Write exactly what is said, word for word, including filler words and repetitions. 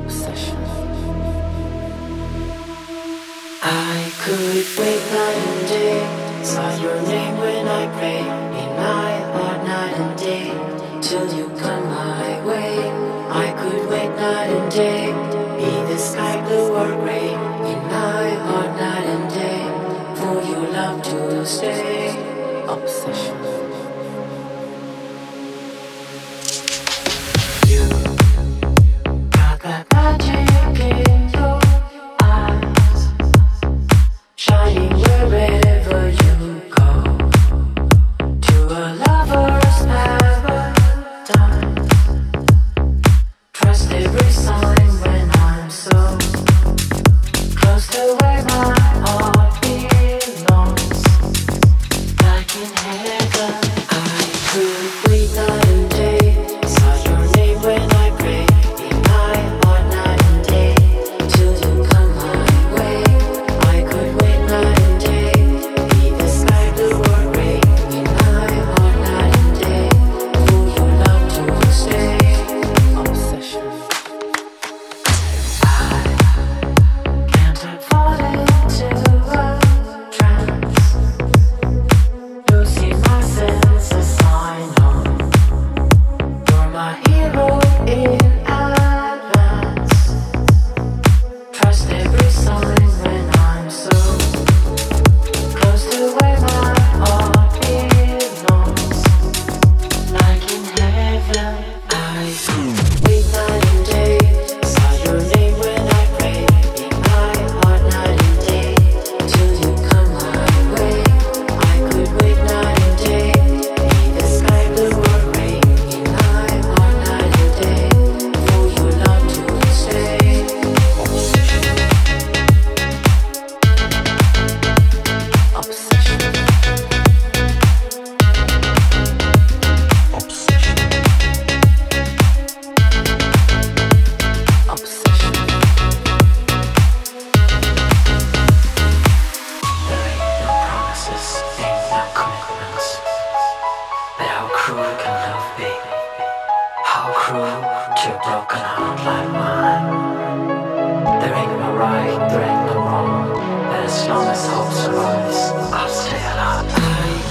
obsession. I could wait night and day, saw your name when I pray, in my heart night and day, till you come my way. I could wait night and day, be the sky blue or gray, in my heart night and day, for your love to stay. Obsession. You got that magic in your eyes, shining wherever you go, to a lover's paradise. Trust every sign when I'm so close to where my heart belongs. Like in heaven, I could wait night and day, saw your name when I pray, in my heart night and day, till you come my way. I could wait night and day, be the sky blue or gray, in my heart night and day, for your love to stay. Obsession. I can't help falling into a trance, losing my senses. I know you're my hero in advance. Trust every sign when I'm so close to where my heart belongs. Like in heaven, I wait night and day, saw your name when I pray, in my heart night and day, till you come my way. I could wait night and day, be the sky blue or gray, in my heart night and day, for your love to stay. Obsession. Obsession. Obsession. Obsession. There ain't no promises, ain't no commitments, but how cruel can love be? How cruel to a broken heart like mine? There ain't no right, there ain't no wrong, but as long as hope survives, I'll stay alive. I